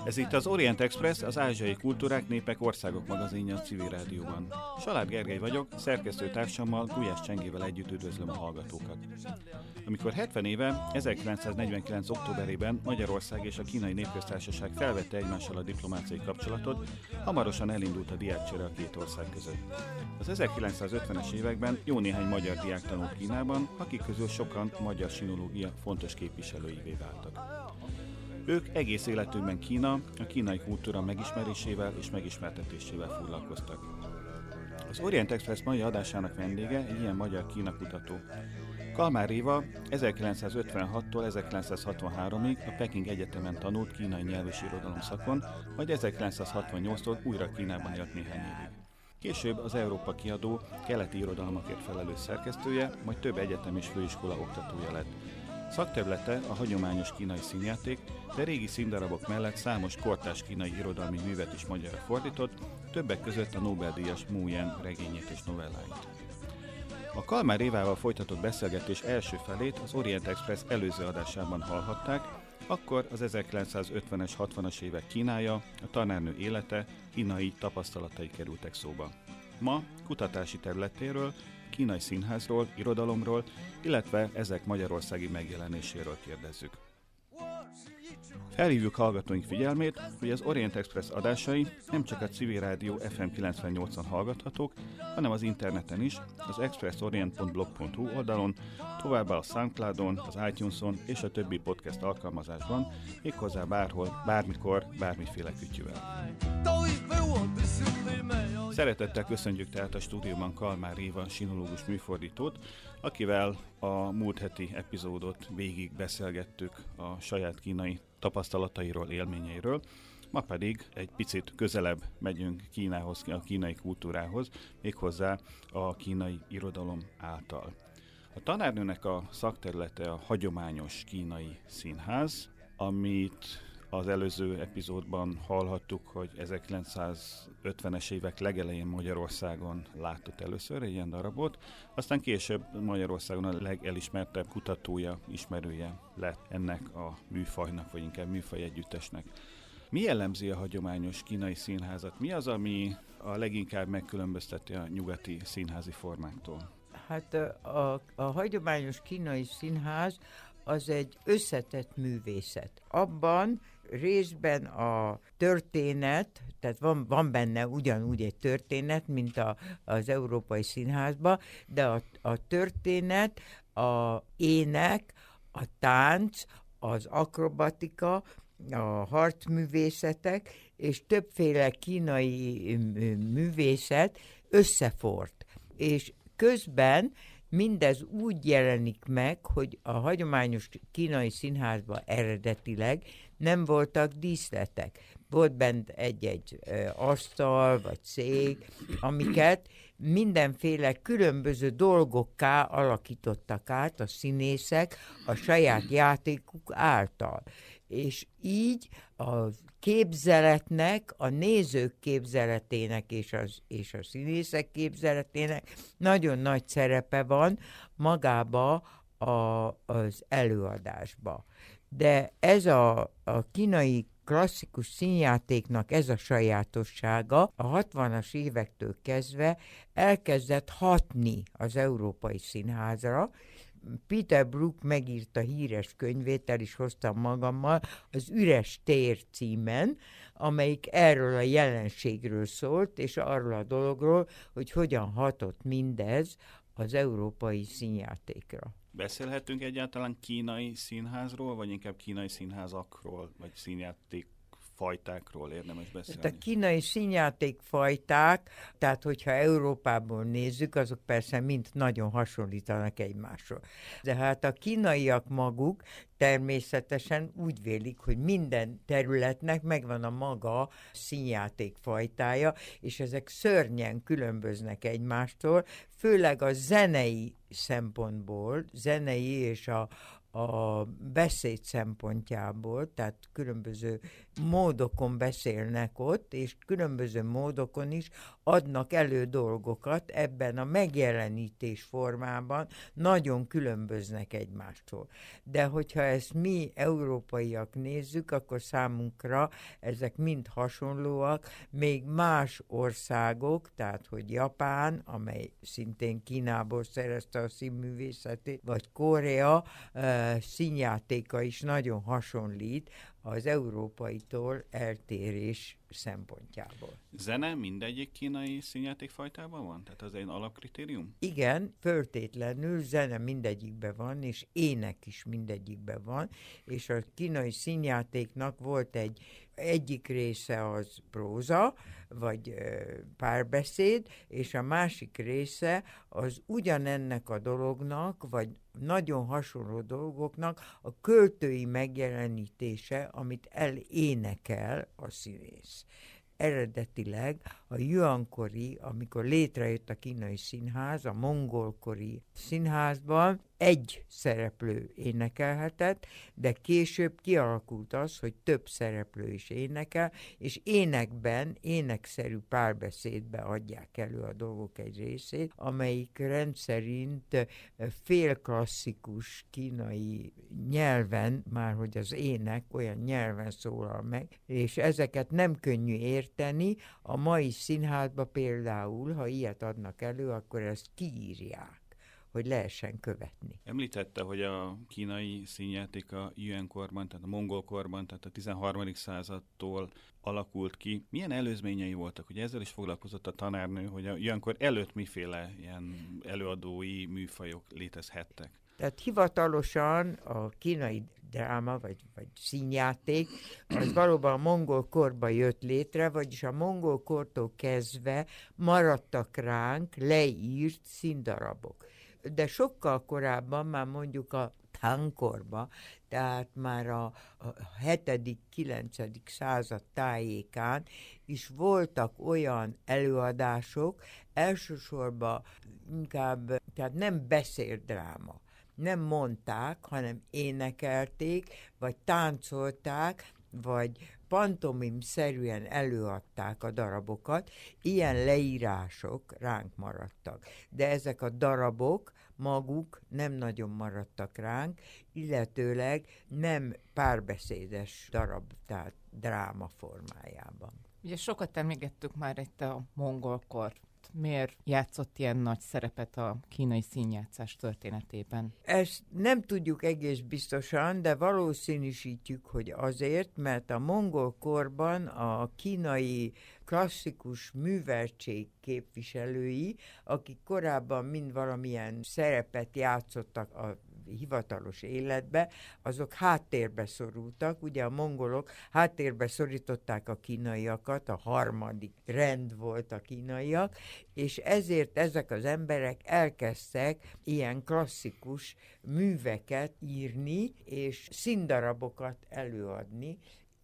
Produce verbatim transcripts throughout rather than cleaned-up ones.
Ez itt az Orient Express, az ázsiai kultúrák, népek, országok magazinja a Civil Rádióban. Salád Gergely vagyok, szerkesztőtársammal, Gulyás Csengével együtt üdvözlöm a hallgatókat. Amikor hetven éve, ezerkilencszáznegyvenkilenc. októberében Magyarország és a Kínai Népköztársaság felvette egymással a diplomáciai kapcsolatot, hamarosan elindult a diákcsere a két ország között. Az ezerkilencszázötvenes években jó néhány magyar diák tanult Kínában, akik közül sokan magyar sinológia fontos képviselőivé váltak. Ők egész életükben Kína, a kínai kultúra megismerésével és megismertetésével foglalkoztak. Az Orient Express mai adásának vendége egy ilyen magyar Kína kutató. Kalmár Éva ezerkilencszázötvenhattól ezerkilencszázhatvanháromig a Peking Egyetemen tanult kínai nyelv és irodalom szakon, majd ezerkilencszázhatvannyolctól újra Kínában élt néhány évig. Később az Európa Kiadó keleti irodalmakért felelős szerkesztője, majd több egyetem és főiskola oktatója lett. Szakterülete a hagyományos kínai színjáték, de régi színdarabok mellett számos kortárs kínai irodalmi művet is magyarra fordított, többek között a Nobel-díjas Mu Yen regényét és novelláit. A Kalmár Évával folytatott beszélgetés első felét az Orient Express előző adásában hallhatták, akkor az ezerkilencszázötvenes, hatvanas évek Kínája, a tanárnő élete, kínai tapasztalatai kerültek szóba. Ma kutatási területéről, kínai színházról, irodalomról, illetve ezek magyarországi megjelenéséről kérdezzük. Felhívjuk hallgatóink figyelmét, hogy az Orient Express adásai nem csak a Civil Rádió ef em kilencvennyolcon hallgathatók, hanem az interneten is, az expressorient pont blog pont hu oldalon, továbbá a Soundcloudon, az iTuneson és a többi podcast alkalmazásban, méghozzá bárhol, bármikor, bármiféle kütyüvel. Szeretettel köszönjük tehát a stúdióban Kalmár Éva sinológus műfordítót, akivel a múlt heti epizódot végig beszélgettük a saját kínai tapasztalatairól, élményeiről. Ma pedig egy picit közelebb megyünk Kínához, a kínai kultúrához, méghozzá a kínai irodalom által. A tanárnőnek a szakterülete a hagyományos kínai színház, amit az előző epizódban hallhattuk, hogy ezerkilencszázötvenes évek legelején Magyarországon látott először egy ilyen darabot, aztán később Magyarországon a legelismertebb kutatója, ismerője lett ennek a műfajnak, vagy inkább műfaj együttesnek. Mi jellemzi a hagyományos kínai színházat? Mi az, ami a leginkább megkülönbözteti a nyugati színházi formáktól? Hát a, a hagyományos kínai színház az egy összetett művészet. Abban részben a történet, tehát van, van benne ugyanúgy egy történet, mint a, az Európai Színházban, de a, a történet, a ének, a tánc, az akrobatika, a harcművészetek és többféle kínai művészet összefort. És közben mindez úgy jelenik meg, hogy a hagyományos kínai színházban eredetileg nem voltak díszletek. Volt bent egy-egy ö, asztal vagy szék, amiket mindenféle különböző dolgokká alakítottak át a színészek a saját játékuk által. És így a képzeletnek, a nézők képzeletének és, az, és a színészek képzeletének nagyon nagy szerepe van magába a, az előadásba. De ez a, a kínai klasszikus színjátéknak ez a sajátossága a hatvanas évektől kezdve elkezdett hatni az európai színházra. Peter Brook megírta híres könyvét, el is hoztam magammal, az Üres tér címen, amelyik erről a jelenségről szólt, és arról a dologról, hogy hogyan hatott mindez az európai színjátékra. Beszélhetünk egyáltalán kínai színházról, vagy inkább kínai színházakról, vagy színjáték fajtákról érdemes beszélni? Tehát a kínai színjátékfajták, tehát hogyha Európából nézzük, azok persze mind nagyon hasonlítanak egymásról. De hát a kínaiak maguk természetesen úgy vélik, hogy minden területnek megvan a maga színjátékfajtája, és ezek szörnyen különböznek egymástól, főleg a zenei szempontból, zenei és a a beszéd szempontjából, tehát különböző módokon beszélnek ott, és különböző módokon is adnak elő dolgokat ebben a megjelenítés formában, nagyon különböznek egymástól. De hogyha ezt mi európaiak nézzük, akkor számunkra ezek mind hasonlóak, még más országok, tehát hogy Japán, amely szintén Kínából szerezte a színművészetét, vagy Korea uh, színjátéka is nagyon hasonlít az európaitól eltérés szempontjából. Zene mindegyik kínai színjátékfajtában van? Tehát az egy alapkritérium? Igen, föltétlenül zene mindegyikben van, és ének is mindegyikben van, és a kínai színjátéknak volt egy egyik része az próza, vagy ö, párbeszéd, és a másik része az ugyanennek a dolognak, vagy nagyon hasonló dolgoknak a költői megjelenítése, amit elénekel a színész. Eredetileg a Yuan-kori, amikor létrejött a kínai színház, a mongolkori színházban egy szereplő énekelhetett, de később kialakult az, hogy több szereplő is énekel, és énekben, énekszerű párbeszédbe adják elő a dolgok egy részét, amelyik rendszerint félklasszikus kínai nyelven, már hogy az ének olyan nyelven szólal meg, és ezeket nem könnyű érteni. A mai színházban például, ha ilyet adnak elő, akkor ezt kiírják, hogy lehessen követni. Említette, hogy a kínai színjáték a Yuan-korban, tehát a mongol korban, tehát a tizenharmadik századtól alakult ki. Milyen előzményei voltak? Ugye ezzel is foglalkozott a tanárnő, hogy a Yuan-kor előtt miféle ilyen előadói műfajok létezhettek? Tehát hivatalosan a kínai dráma, vagy, vagy színjáték, az valóban a mongol korban jött létre, vagyis a mongol kortól kezdve maradtak ránk leírt színdarabok. De sokkal korábban, már mondjuk a Tang-korban, tehát már a, a hetedik-kilencedik század tájékán is voltak olyan előadások, elsősorban inkább, tehát nem beszéldráma, nem mondták, hanem énekelték, vagy táncolták, vagy pantomim-szerűen előadták a darabokat, ilyen leírások ránk maradtak. De ezek a darabok maguk nem nagyon maradtak ránk, illetőleg nem párbeszédes darab, tehát dráma formájában. Ugye sokat emlégettük már itt a mongolkort. Miért játszott ilyen nagy szerepet a kínai színjátszás történetében? Ezt nem tudjuk egész biztosan, de valószínűsítjük, hogy azért, mert a mongol korban a kínai klasszikus műveltség képviselői, akik korábban mind valamilyen szerepet játszottak a hivatalos életbe, azok háttérbe szorultak. Ugye a mongolok háttérbe szorították a kínaiakat, a harmadik rend volt a kínaiak, és ezért ezek az emberek elkezdtek ilyen klasszikus műveket írni, és színdarabokat előadni.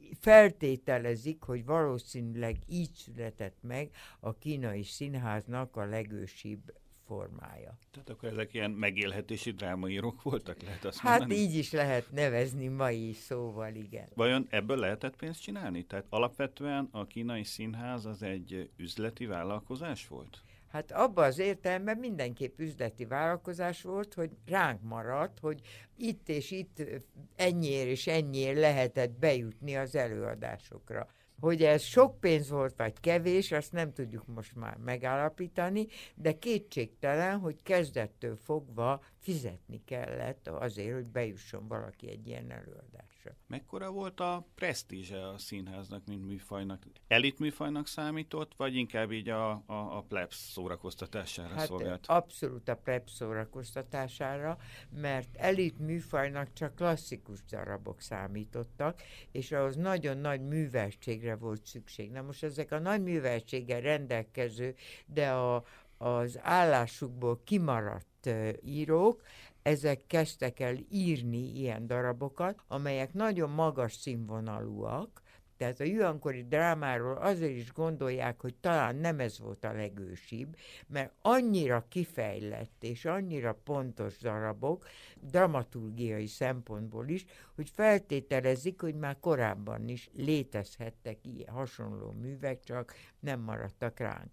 Feltételezik, hogy valószínűleg így született meg a kínai színháznak a legősibb formája. Tehát akkor ezek ilyen megélhetési drámaírók voltak, lehet azt Hát mondani? így is lehet nevezni mai szóval, igen. Vajon ebből lehetett pénzt csinálni? Tehát alapvetően a kínai színház az egy üzleti vállalkozás volt? Hát abban az értelemben mindenképp üzleti vállalkozás volt, hogy ránk maradt, hogy itt és itt ennyiért és ennyiért lehetett bejutni az előadásokra. Hogy ez sok pénz volt, vagy kevés, azt nem tudjuk most már megállapítani, de kétségtelen, hogy kezdettől fogva fizetni kellett azért, hogy bejusson valaki egy ilyen előadásra. Mekkora volt a presztízse a színháznak, mint műfajnak? Elit műfajnak számított, vagy inkább így a, a, a plebs szórakoztatására hát szolgált? Abszolút a plebs szórakoztatására, mert elit műfajnak csak klasszikus darabok számítottak, és ahhoz nagyon nagy műveltségre volt szükség. Na most ezek a nagy műveltséggel rendelkező, de a, az állásukból kimaradt uh, írók, ezek kezdtek el írni ilyen darabokat, amelyek nagyon magas színvonalúak, Tehát a jüankori drámáról azért is gondolják, hogy talán nem ez volt a legősibb, mert annyira kifejlett és annyira pontos darabok, dramaturgiai szempontból is, hogy feltételezik, hogy már korábban is létezhettek ilyen hasonló művek, csak nem maradtak ránk.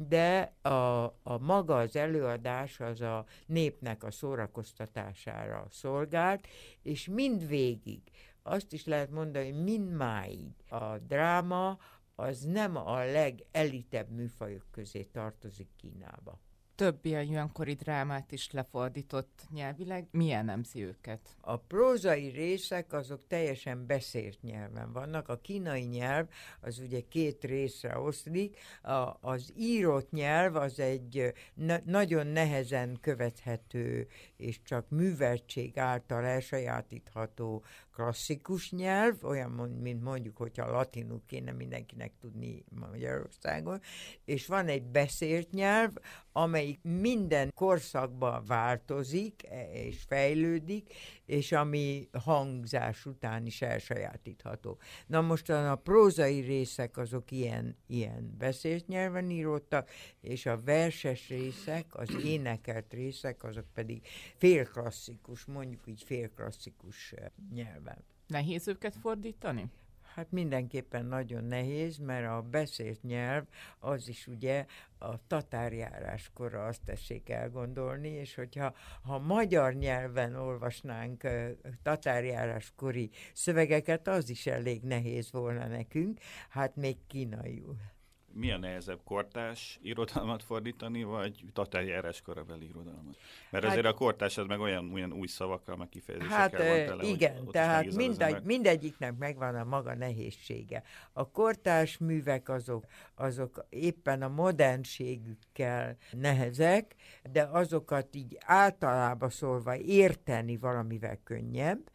De a, a maga az előadás az a népnek a szórakoztatására szolgált, és mindvégig, azt is lehet mondani, hogy mindmáig a dráma az nem a legelitebb műfajok közé tartozik Kínába. Több ilyen jüankori drámát is lefordított nyelvileg. Mi jellemzi őket? A prózai részek azok teljesen beszélt nyelven vannak. A kínai nyelv az ugye két részre oszlik. A, az írott nyelv az egy na- nagyon nehezen követhető és csak műveltség által elsajátítható klasszikus nyelv, olyan, mint mondjuk, hogyha latinul kéne mindenkinek tudni Magyarországon, és van egy beszélt nyelv, amelyik minden korszakban változik és fejlődik, és ami hangzás után is elsajátítható. Na most a prózai részek azok ilyen, ilyen beszélt nyelven íródtak, és a verses részek, az énekelt részek, azok pedig félklasszikus, mondjuk így félklasszikus nyelven. Nehéz őket fordítani? Hát mindenképpen nagyon nehéz, mert a beszélt nyelv az is ugye a tatárjáráskora, azt tessék elgondolni, és hogyha ha magyar nyelven olvasnánk uh, tatárjáráskori szövegeket, az is elég nehéz volna nekünk, hát még kínaiul. Mi a nehezebb, kortárs irodalmat fordítani, vagy tatárjárás korabeli irodalmat? Mert hát, azért a kortárs az meg olyan, olyan új szavakkal, meg kifejezésekkel hát, van tele, igen, tehát mindegy, mindegyiknek megvan a maga nehézsége. A kortárs művek azok, azok éppen a modernségükkel nehezek, de azokat így általában szólva érteni valamivel könnyebb.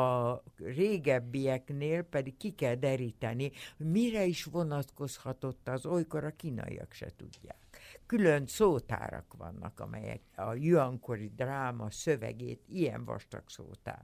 A régebbieknél pedig ki kell deríteni, hogy mire is vonatkozhatott az, olykor a kínaiak se tudják. Külön szótárak vannak, amelyek a jüankori dráma szövegét, ilyen vastag szótár.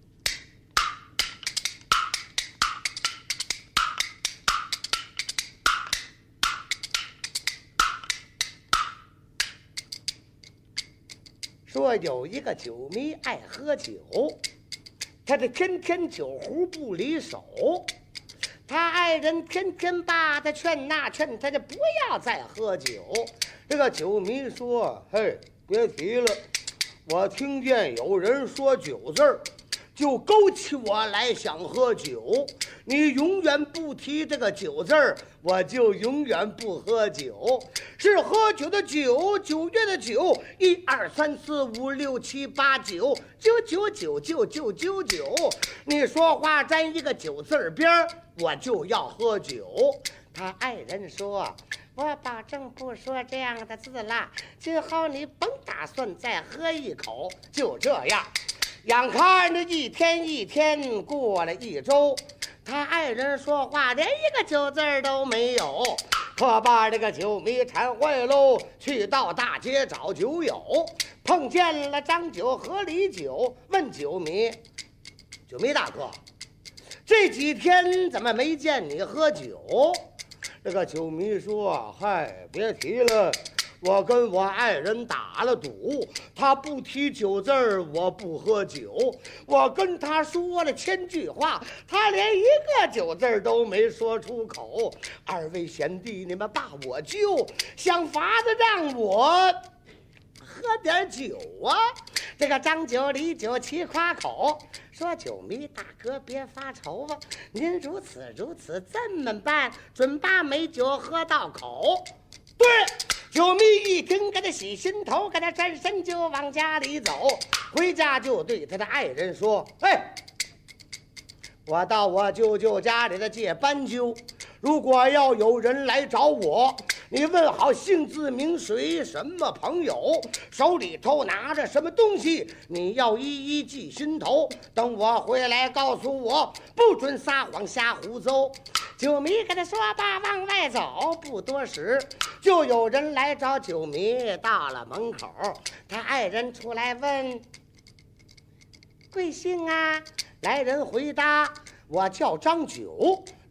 说有一个酒迷爱喝酒，他这天天酒壶不离手，他爱人天天把他劝呐劝，他就不要再喝酒。这个酒迷说：“嘿，别提了，我听见有人说酒字儿，就勾起我来想喝酒。你永远不提这个酒字儿，我就永远不喝酒。是喝酒的酒，九月的酒，一二三四五六七八九，九九九九九九九。你说话沾一个酒字儿边儿，我就要喝酒。”他爱人说：“我保证不说这样的字了，今后你甭打算再喝一口。”就这样，眼看着一天一天过了一周，他爱人说话连一个酒字儿都没有，可把这个酒迷馋坏喽，去到大街找酒友，碰见了张酒和李酒，问酒迷：“酒迷大哥，这几天怎么没见你喝酒？”这个酒迷说：“嗨，别提了，我跟我爱人打了赌，他不提酒字儿，我不喝酒。我跟他说了千句话，他连一个酒字儿都没说出口。二位贤弟，你们把我救，想法子让我喝点酒啊！”这个张酒李酒齐夸口，说：“酒迷大哥别发愁啊，您如此如此这么办，准把美酒喝到口。”对，酒迷一听，给他洗心头，给他转身就往家里走。回家就对他的爱人说：“哎，我到我舅舅家里的借斑鸠，如果要有人来找我，你问好姓字名谁，什么朋友，手里头拿着什么东西，你要一一记心头。等我回来告诉我，不准撒谎瞎胡诌。”酒迷跟他说罢，往外走，不多时，就有人来找酒迷。到了门口，他爱人出来问：“贵姓啊？”来人回答：“我叫张九。”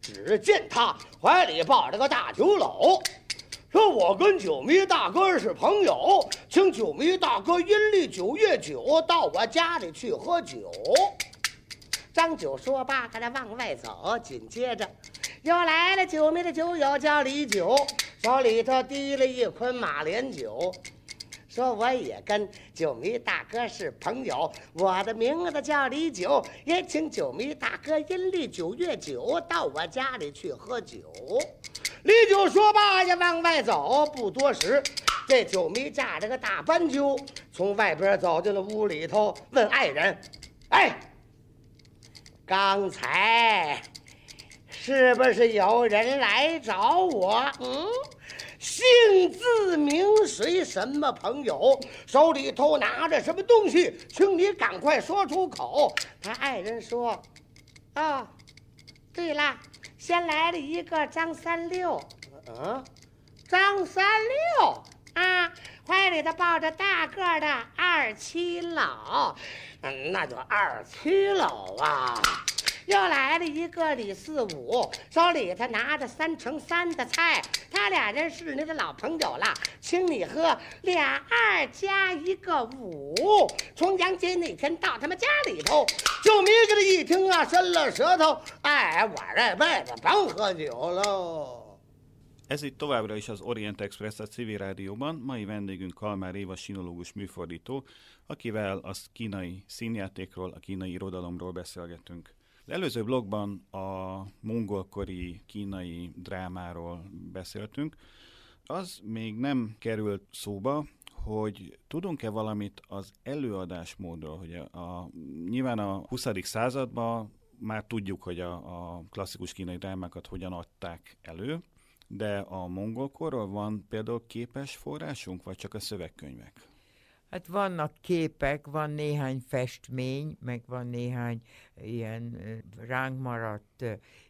只见他怀里抱着个大酒篓，说我跟九迷大哥是朋友，请九迷大哥阴历九月九到我家里去喝酒。张九说罢，跟他往外走，紧接着又来了九迷的酒友叫李九，手里头提了一捆马连酒，说我也跟九迷大哥是朋友，我的名字叫李九，也请九迷大哥阴历九月九到我家里去喝酒。李九说罢呀，往外走，不多时，这九迷驾着个大斑鸠从外边走进了屋里头，问爱人：“哎，刚才是不是有人来找我？嗯，姓字名谁？什么朋友？手里头拿着什么东西？请你赶快说出口。”他爱人说：“哦，对了，先来了一个张三六。嗯，张三六啊，怀里头抱着大个的二七老。嗯，那就二七老啊。”又来了一个李四五，手里头拿着三乘三的菜，他俩人是你的老朋友了，请你喝俩二加一个五。重阳节那天到他们家里头，九迷给他一听啊，伸了舌头，哎，我这辈子甭喝酒喽。 Ez itt továbbra is az Orient Express a civil rádióban. Mai vendégünk Kalmár Éva sinológus műfordító, akivel a kínai színjátékról, a kínai irodalomról beszélgetünk. Az előző blogban a mongolkori kínai drámáról beszéltünk. Az még nem került szóba, hogy tudunk-e valamit az előadásmódról, hogy a, a, nyilván a huszadik században már tudjuk, hogy a, a klasszikus kínai drámákat hogyan adták elő, de a mongolkorról van például képes forrásunk, vagy csak a szövegkönyvek? Hát vannak képek, van néhány festmény, meg van néhány ilyen ránk maradt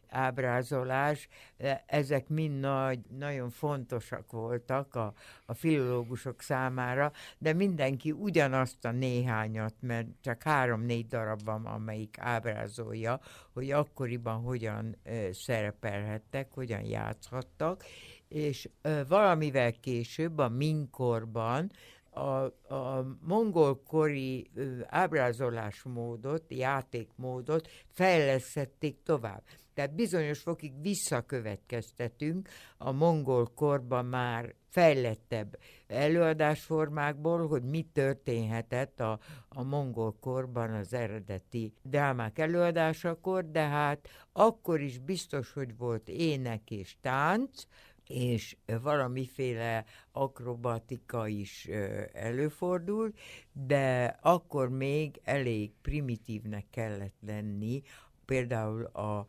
ábrázolás. Ezek mind nagy, nagyon fontosak voltak a, a filológusok számára, de mindenki ugyanazt a néhányat, mert csak három-négy darab van, amelyik ábrázolja, hogy akkoriban hogyan ö, szerepelhettek, hogyan játszhattak, és ö, valamivel később, a Ming-korban A, a mongolkori ö, ábrázolásmódot, játékmódot fejlesztették tovább. Tehát bizonyos fokig visszakövetkeztetünk a mongol korban már fejlettebb előadásformákból, hogy mi történhetett a, a mongol korban az eredeti drámák előadásakor, de hát akkor is biztos, hogy volt ének és tánc, és valamiféle akrobatika is előfordul, de akkor még elég primitívnek kellett lenni, például a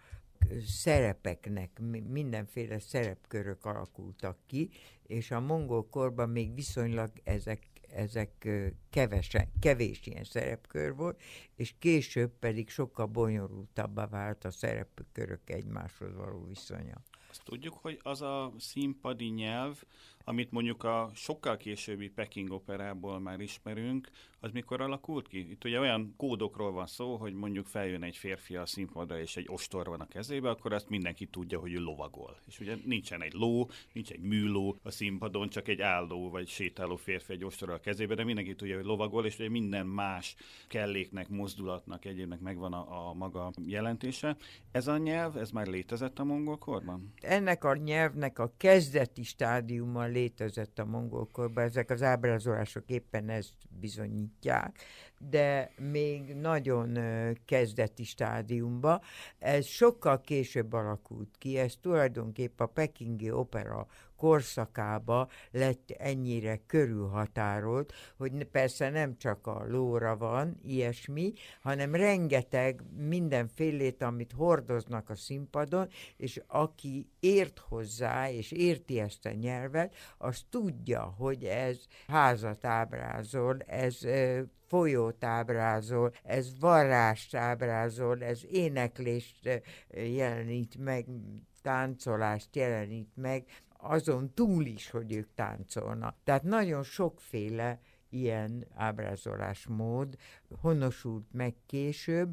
szerepeknek, mindenféle szerepkörök alakultak ki, és a mongol korban még viszonylag ezek, ezek kevesen, kevés ilyen szerepkör volt, és később pedig sokkal bonyolultabbá vált a szerepkörök egymáshoz való viszonya. Azt tudjuk, hogy az a színpadi nyelv, amit mondjuk a sokkal későbbi Peking operából már ismerünk, az mikor alakult ki? Itt ugye olyan kódokról van szó, hogy mondjuk feljön egy férfi a színpadra, és egy ostor van a kezébe, akkor azt mindenki tudja, hogy ő lovagol. És ugye nincsen egy ló, nincs egy műló a színpadon, csak egy álló vagy sétáló férfi egy ostorral a kezébe, de mindenki tudja, hogy lovagol, és ugye minden más kelléknek, mozdulatnak, egyébnek megvan a, a maga jelentése. Ez a nyelv, ez már létezett a mongol korban? Ennek a nyelvnek a kezdeti stádiuma létezett a mongol korban, ezek az ábrázolások éppen ezt bizonyítják, de még nagyon kezdeti stádiumban. Ez sokkal később alakult ki, ez tulajdonképpen a pekingi opera korszakába lett ennyire körülhatárolt, hogy persze nem csak a lóra van ilyesmi, hanem rengeteg mindenfélét, amit hordoznak a színpadon, és aki ért hozzá, és érti ezt a nyelvet, az tudja, hogy ez házat ábrázol, ez folyót ábrázol, ez varrást ábrázol, ez éneklést jelenít meg, táncolást jelenít meg, azon túl is, hogy ők táncolnak. Tehát nagyon sokféle ilyen ábrázolásmód honosult meg később,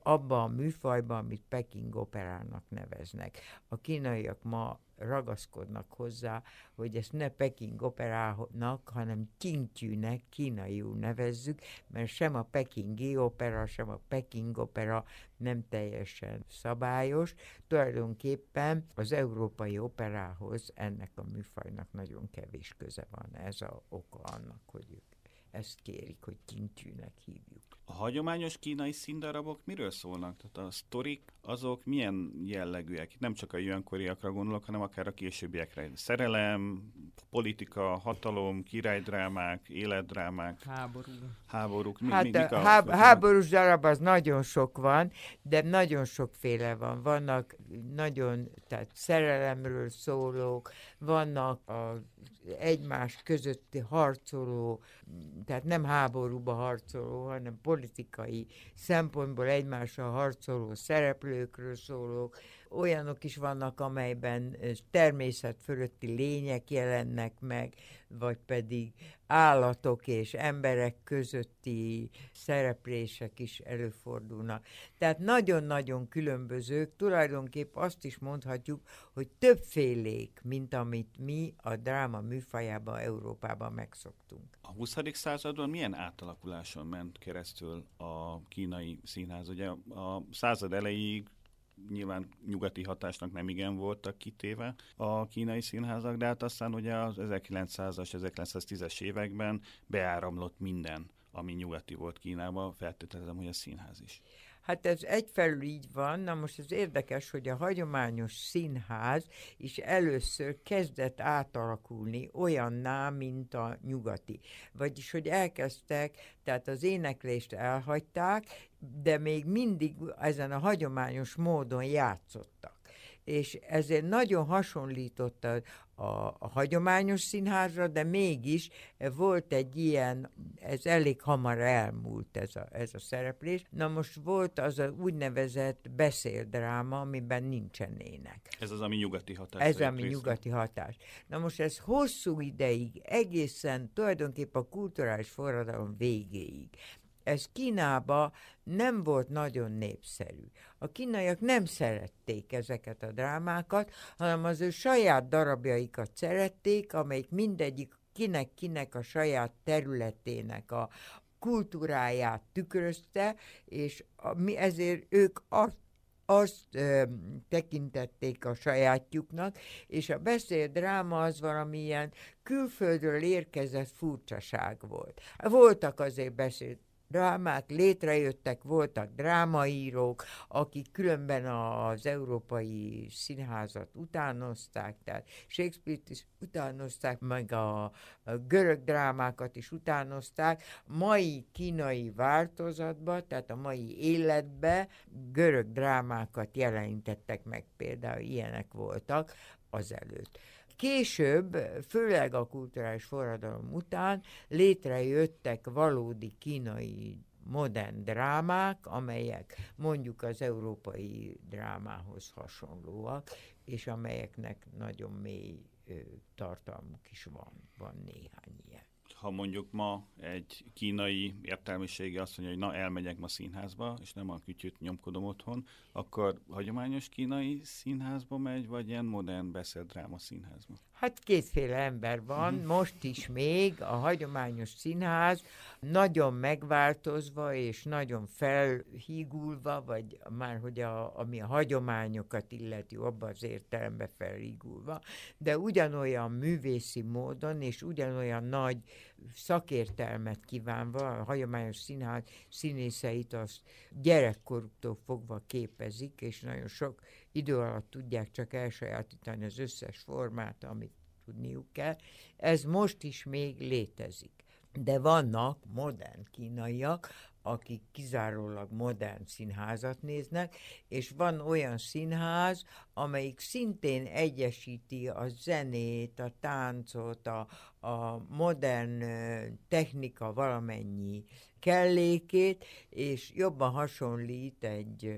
abba a műfajba, amit Peking operának neveznek. A kínaiak ma ragaszkodnak hozzá, hogy ezt ne Peking operának, hanem Qingtyűnek, kínaiul nevezzük, mert sem a pekingi opera, sem a Peking opera nem teljesen szabályos. Tulajdonképpen az európai operához ennek a műfajnak nagyon kevés köze van. Ez az oka annak, hogy ők ezt kérik, hogy Qingtyűnek hívjuk. A hagyományos kínai színdarabok miről szólnak? Tehát a sztorik, azok milyen jellegűek? Nem csak a jelenkoriakra gondolok, hanem akár a későbbiekre. Szerelem, politika, hatalom, királydrámák, életdrámák, háború. háborúk. Mi, Hát mi, mik a, há- háborús darab az nagyon sok van, de nagyon sokféle van. Vannak nagyon, tehát szerelemről szólók, vannak a egymás közötti harcoló, tehát nem háborúba harcoló, hanem politikai szempontból egymással harcoló szereplőkről szólók. Olyanok is vannak, amelyben természet fölötti lények jelennek meg, vagy pedig állatok és emberek közötti szereplések is előfordulnak. Tehát nagyon-nagyon különbözők, tulajdonképp azt is mondhatjuk, hogy többfélék, mint amit mi a dráma műfajában, Európában megszoktunk. A huszadik században milyen átalakuláson ment keresztül a kínai színház? Ugye a század elejéig nyilván nyugati hatásnak nem igen voltak kitéve a kínai színházak, de hát aztán ugye az ezerkilencszázas, ezerkilencszáztízes években beáramlott minden, ami nyugati volt Kínában, feltételezem, hogy a színház is. Hát ez egyfelül így van, na most ez érdekes, hogy a hagyományos színház is először kezdett átalakulni olyanná, mint a nyugati. Vagyis, hogy elkezdtek, tehát az éneklést elhagyták, de még mindig ezen a hagyományos módon játszottak. És ezért nagyon hasonlított a, a, a hagyományos színházra, de mégis volt egy ilyen, ez elég hamar elmúlt ez a, ez a szereplés. Na most volt az a úgynevezett beszéldráma, amiben nincsen ének. Ez az, ami nyugati hatás. Ez ami nyugati hatás. Na most ez hosszú ideig, egészen tulajdonképpen a kulturális forradalom végéig. Ez Kínában nem volt nagyon népszerű. A kínaiak nem szerették ezeket a drámákat, hanem az ő saját darabjaikat szerették, amelyik mindegyik kinek-kinek a saját területének a kultúráját tükrözte, és a, mi ezért ők azt azt ö, tekintették a sajátjuknak, és a beszéldráma az valamilyen külföldről érkezett furcsaság volt. Voltak azért beszéd drámák, létrejöttek, voltak drámaírók, akik különben az európai színházat utánozták, tehát Shakespeare-t is utánozták, meg a, a görög drámákat is utánozták. Mai kínai változatban, tehát a mai életben görög drámákat jelenítettek meg, például ilyenek voltak azelőtt. Később, főleg a kulturális forradalom után létrejöttek valódi kínai modern drámák, amelyek mondjuk az európai drámához hasonlóak, és amelyeknek nagyon mély ö, tartalmuk is van, van néhány ilyen. Ha mondjuk ma egy kínai értelmiségi azt mondja, hogy na, elmegyek ma színházba, és nem a kütyüt nyomkodom otthon, akkor hagyományos kínai színházba megy, vagy ilyen modern beszéldráma színházba? Hát kétféle ember van, uh-huh. Most is még a hagyományos színház nagyon megváltozva és nagyon felhígulva, vagy már hogy a, ami a hagyományokat illeti, abban az értelemben felhígulva, de ugyanolyan művészi módon és ugyanolyan nagy szakértelmet kívánva, a hagyományos színház színészeit azt gyerekkoruktól fogva képezik, és nagyon sok idő alatt tudják csak elsajátítani az összes formát, amit tudniuk kell. Ez most is még létezik. De vannak modern kínaiak, akik kizárólag modern színházat néznek, és van olyan színház, amelyik szintén egyesíti a zenét, a táncot, a, a modern technika valamennyi kellékét, és jobban hasonlít egy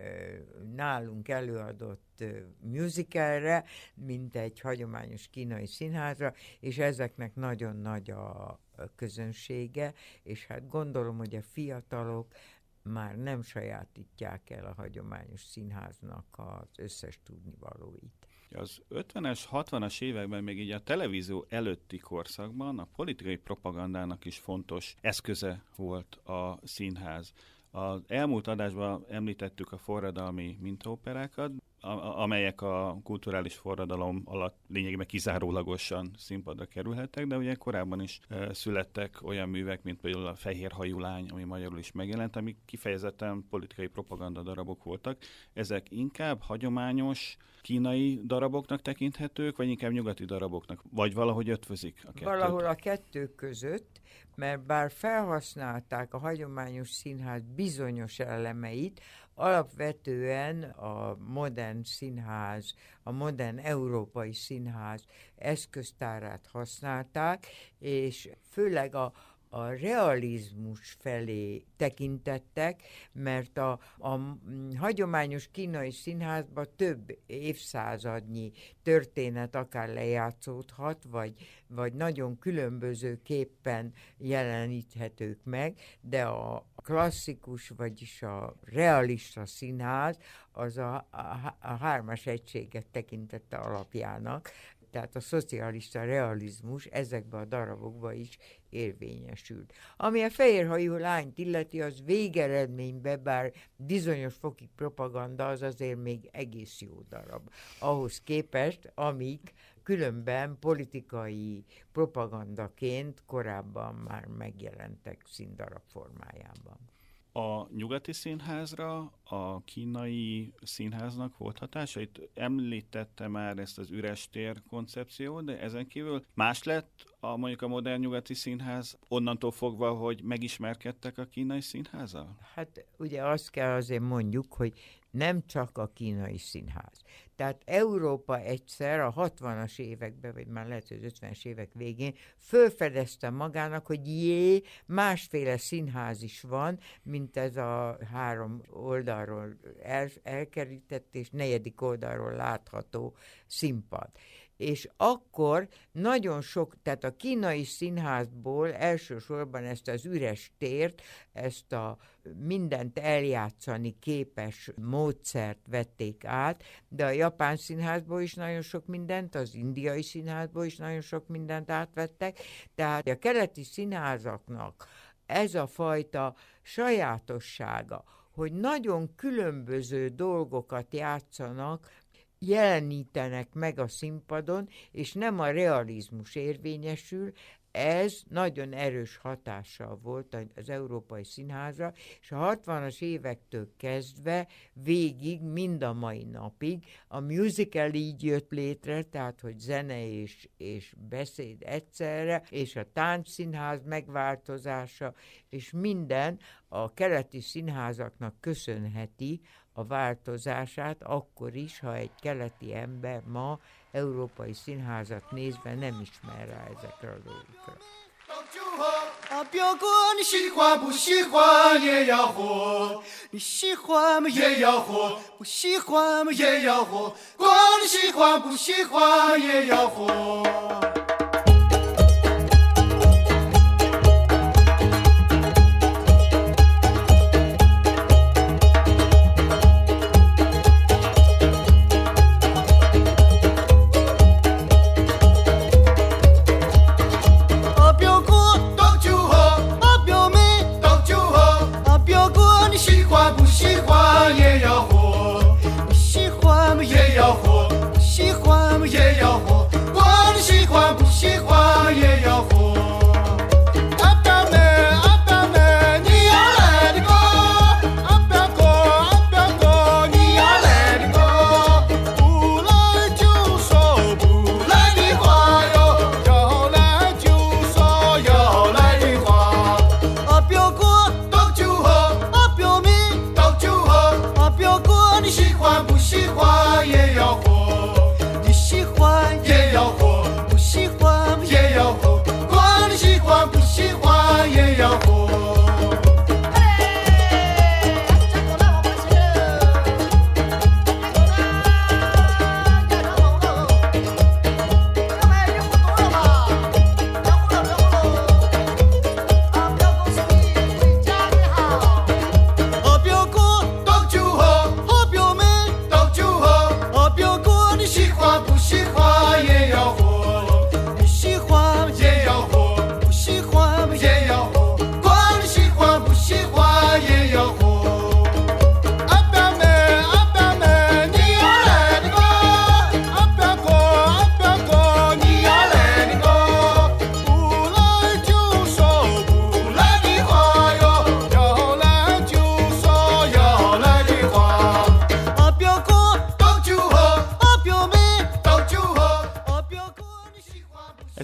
nálunk előadott musicalre, mint egy hagyományos kínai színházra, és ezeknek nagyon nagy a közönsége, és hát gondolom, hogy a fiatalok már nem sajátítják el a hagyományos színháznak az összes tudnivalóit. Az ötvenes, hatvanas években még így a televízió előtti korszakban a politikai propagandának is fontos eszköze volt a színház. Az elmúlt adásban említettük a forradalmi mintaoperákat, amelyek a kulturális forradalom alatt lényegében kizárólagosan színpadra kerülhettek, de ugye korábban is e, születtek olyan művek, mint például a Fehér hajú lány, ami magyarul is megjelent, amik kifejezetten politikai propaganda darabok voltak. Ezek inkább hagyományos kínai daraboknak tekinthetők, vagy inkább nyugati daraboknak, vagy valahogy ötvözik a kettőt? Valahol a kettő között, mert bár felhasználták a hagyományos színház bizonyos elemeit, alapvetően a modern színház, a modern európai színház eszköztárát használták, és főleg a a realizmus felé tekintettek, mert a, a hagyományos kínai színházban több évszázadnyi történet akár lejátszódhat, vagy, vagy nagyon különbözőképpen jeleníthetők meg, de a klasszikus, vagyis a realista színház az a, a, a hármas egységet tekintette alapjának, tehát a szocialista realizmus ezekben a darabokban is érvényesült. Ami a Fehérhajú lányt illeti, az végeredményben, bár bizonyos fokig propaganda, az azért még egész jó darab. Ahhoz képest, amik különben politikai propagandaként korábban már megjelentek színdarab formájában. A nyugati színházra a kínai színháznak volt hatása? Itt említette már ezt az üres tér koncepciót, de ezen kívül más lett a, mondjuk a modern nyugati színház onnantól fogva, hogy megismerkedtek a kínai színházzal? Hát ugye azt kell azért mondjuk, hogy nem csak a kínai színház. Tehát Európa egyszer a hatvanas években, vagy már lehet, hogy az ötvenes évek végén fölfedezte magának, hogy jé, másféle színház is van, mint ez a három oldalról el, elkerített és negyedik oldalról látható színpad. És akkor nagyon sok, tehát a kínai színházból elsősorban ezt az üres tért, ezt a mindent eljátszani képes módszert vették át, de a japán színházból is nagyon sok mindent, az indiai színházból is nagyon sok mindent átvettek, tehát a keleti színházaknak ez a fajta sajátossága, hogy nagyon különböző dolgokat játszanak, jelenítenek meg a színpadon, és nem a realizmus érvényesül, ez nagyon erős hatással volt az európai színházra, és a hatvanas évektől kezdve végig, mind a mai napig a musical így jött létre, tehát hogy zene és, és beszéd egyszerre, és a táncszínház megváltozása, és minden a keleti színházaknak köszönheti a változását, akkor is, ha egy keleti ember ma európai színházat nézve nem ismer rá ezekre a dolgokra. 啊，表哥，你喜欢不喜欢也要活，你喜欢嘛也要活，不喜欢嘛也要活，管你喜欢不喜欢也要活。 喜欢嘛也要活，喜欢嘛也要活，管你喜欢不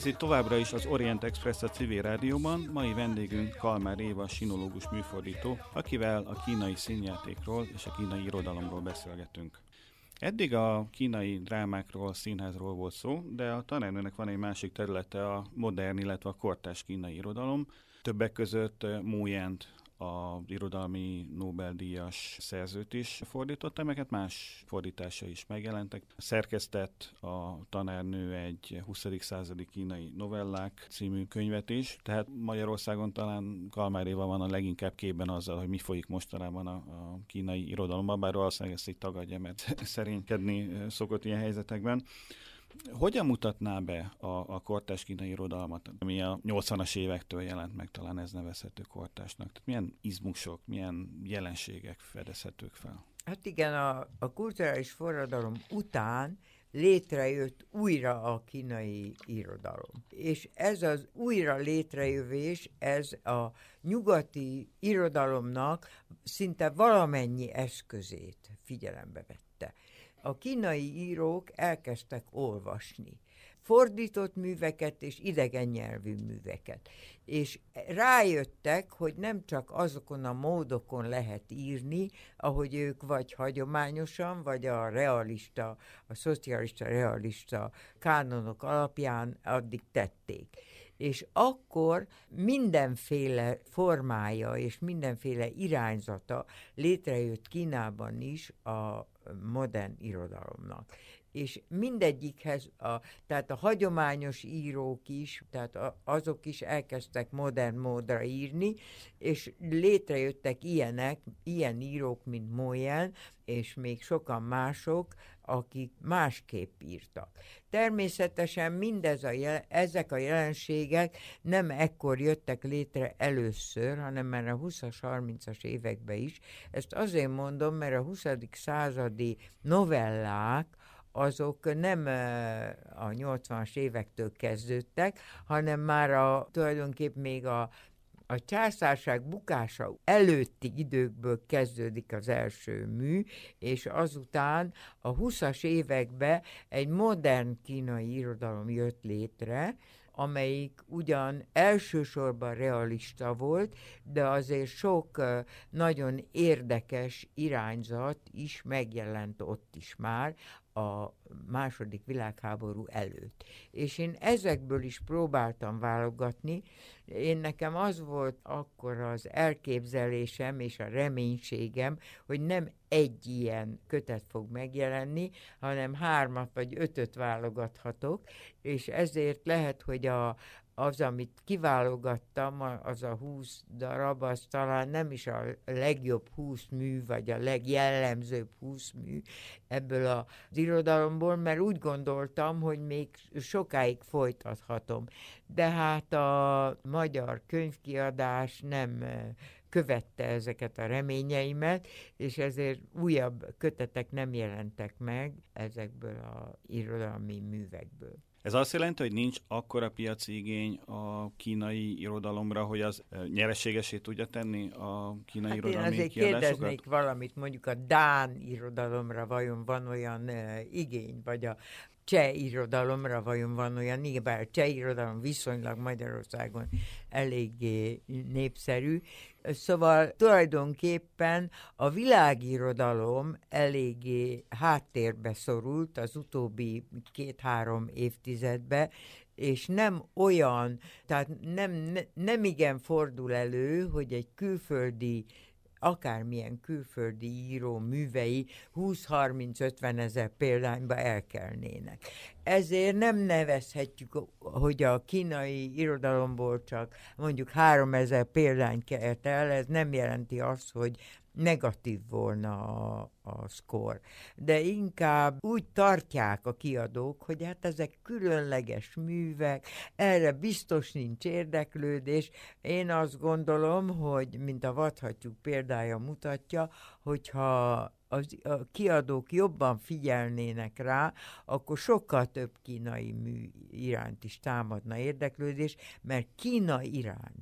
itt továbbra is az Orient Express a civil rádióban, mai vendégünk Kalmár Éva, sinológus műfordító, akivel a kínai színjátékról és a kínai irodalomról beszélgetünk. Eddig a kínai drámákról, színházról volt szó, de a tanárnőnek van egy másik területe, a modern, illetve a kortárs kínai irodalom. Többek között Mo Yent, az irodalmi Nobel-díjas szerzőt is fordította, melyeket más fordítása is megjelentek. Szerkesztett a tanárnő egy huszadik századi kínai novellák című könyvet is, tehát Magyarországon talán Kalmár Éva van a leginkább képben azzal, hogy mi folyik mostanában a, a kínai irodalomban, bár valószínűleg ezt így tagadja, mert szerénykedni szokott ilyen helyzetekben. Hogyan mutatná be a, a kortárs kínai irodalmat, ami a nyolcvanas évektől jelent meg, talán ez nevezhető kortársnak? Tehát milyen izmusok, milyen jelenségek fedezhetők fel? Hát igen, a, a kulturális forradalom után létrejött újra a kínai irodalom. És ez az újra létrejövés, ez a nyugati irodalomnak szinte valamennyi eszközét figyelembe vette. A kínai írók elkezdtek olvasni fordított műveket és idegen nyelvű műveket. És rájöttek, hogy nem csak azokon a módokon lehet írni, ahogy ők vagy hagyományosan, vagy a realista, a szocialista realista kánonok alapján addig tették. És akkor mindenféle formája és mindenféle irányzata létrejött Kínában is a modern irodalomnak. És mindegyikhez, a, tehát a hagyományos írók is, tehát a, azok is elkezdtek modern módra írni, és létrejöttek ilyenek, ilyen írók, mint Mo Yen, és még sokan mások, akik másképp írtak. Természetesen mindez a jel- ezek a jelenségek nem ekkor jöttek létre először, hanem már a huszas, harmincas években is. Ezt azért mondom, mert a huszadik századi novellák, azok nem a nyolcvanas évektől kezdődtek, hanem már a, tulajdonképp még a A császárság bukása előtti időkből kezdődik az első mű, és azután a huszas években egy modern kínai irodalom jött létre, amelyik ugyan elsősorban realista volt, de azért sok uh, nagyon érdekes irányzat is megjelent ott is már a második világháború előtt. És én ezekből is próbáltam válogatni. Én nekem az volt akkor az elképzelésem és a reménységem, hogy nem egy ilyen kötet fog megjelenni, hanem hármat vagy ötöt válogathatok, és ezért lehet, hogy a az, amit kiválogattam, az a húsz darab, az talán nem is a legjobb húsz mű, vagy a legjellemzőbb húsz mű ebből az irodalomból, mert úgy gondoltam, hogy még sokáig folytathatom. De hát a magyar könyvkiadás nem követte ezeket a reményeimet, és ezért újabb kötetek nem jelentek meg ezekből az irodalmi művekből. Ez azt jelenti, hogy nincs akkora piaci igény a kínai irodalomra, hogy az nyereségesé tudja tenni a kínai hát irodalmi kiadásokat? kiadásokat? Én azért kérdeznék valamit, mondjuk a dán irodalomra vajon van olyan uh, igény, vagy a cseh irodalomra vajon van olyan, igen, bár a cseh irodalom viszonylag Magyarországon eléggé népszerű. Szóval tulajdonképpen a világirodalom eléggé háttérbe szorult az utóbbi két-három évtizedben, és nem olyan, tehát nem, ne, nem igen fordul elő, hogy egy külföldi akármilyen külföldi író művei húsz-harminc-ötven ezer példányba elkelnének. Ezért nem nevezhetjük, hogy a kínai irodalomból csak mondjuk háromezer példány kelt el, ez nem jelenti azt, hogy negatív volna a, a szkór. De inkább úgy tartják a kiadók, hogy hát ezek különleges művek, erre biztos nincs érdeklődés. Én azt gondolom, hogy mint a Vadhattyúk példája mutatja, hogyha az, a kiadók jobban figyelnének rá, akkor sokkal több kínai mű iránt is támadna érdeklődés, mert Kína iránt,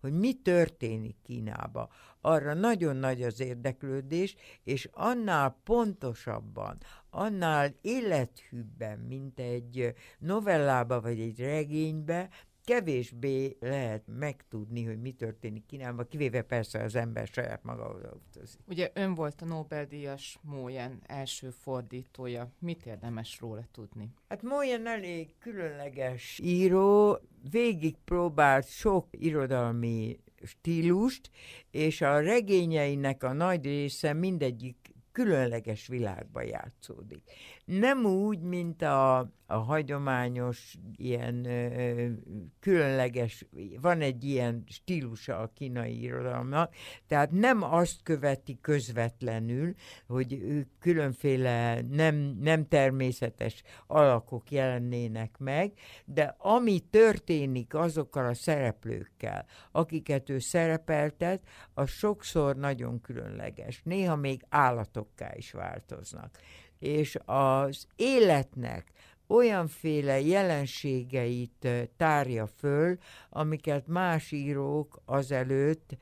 hogy mi történik Kínában. Arra nagyon nagy az érdeklődés, és annál pontosabban, annál élethűbben, mint egy novellába vagy egy regénybe, kevésbé lehet megtudni, hogy mi történik Kínában, kivéve persze az ember saját maga oda utazik. Ugye ön volt a Nobel-díjas Mo Yan első fordítója. Mit érdemes róla tudni? Hát Mo Yan elég különleges író, végig próbált sok irodalmi stílust, és a regényeinek a nagy része mindegyik különleges világban játszódik. Nem úgy, mint a, a hagyományos, ilyen ö, különleges, van egy ilyen stílusa a kínai irodalomnak, tehát nem azt követi közvetlenül, hogy különféle nem, nem természetes alakok jelennének meg, de ami történik azokkal a szereplőkkel, akiket ő szerepeltet, az sokszor nagyon különleges. Néha még állatokká is változnak. És az életnek olyanféle jelenségeit tárja föl, amiket más írók azelőtt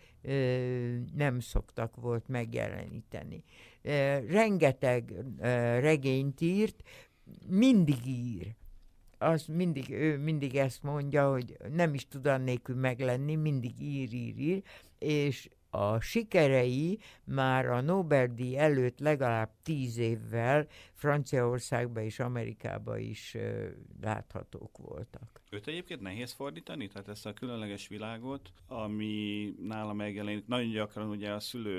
ö, nem szoktak volt megjeleníteni. E, rengeteg e, regényt írt, mindig ír. Az mindig, ő mindig ezt mondja, hogy nem is tud annélkül meglenni, mindig ír, ír, ír, és a sikerei már a Nobel-díj előtt legalább tíz évvel Franciaországban és Amerikában is uh, láthatók voltak. Őt egyébként nehéz fordítani? Tehát ezt a különleges világot, ami nála megjelenik, nagyon gyakran ugye a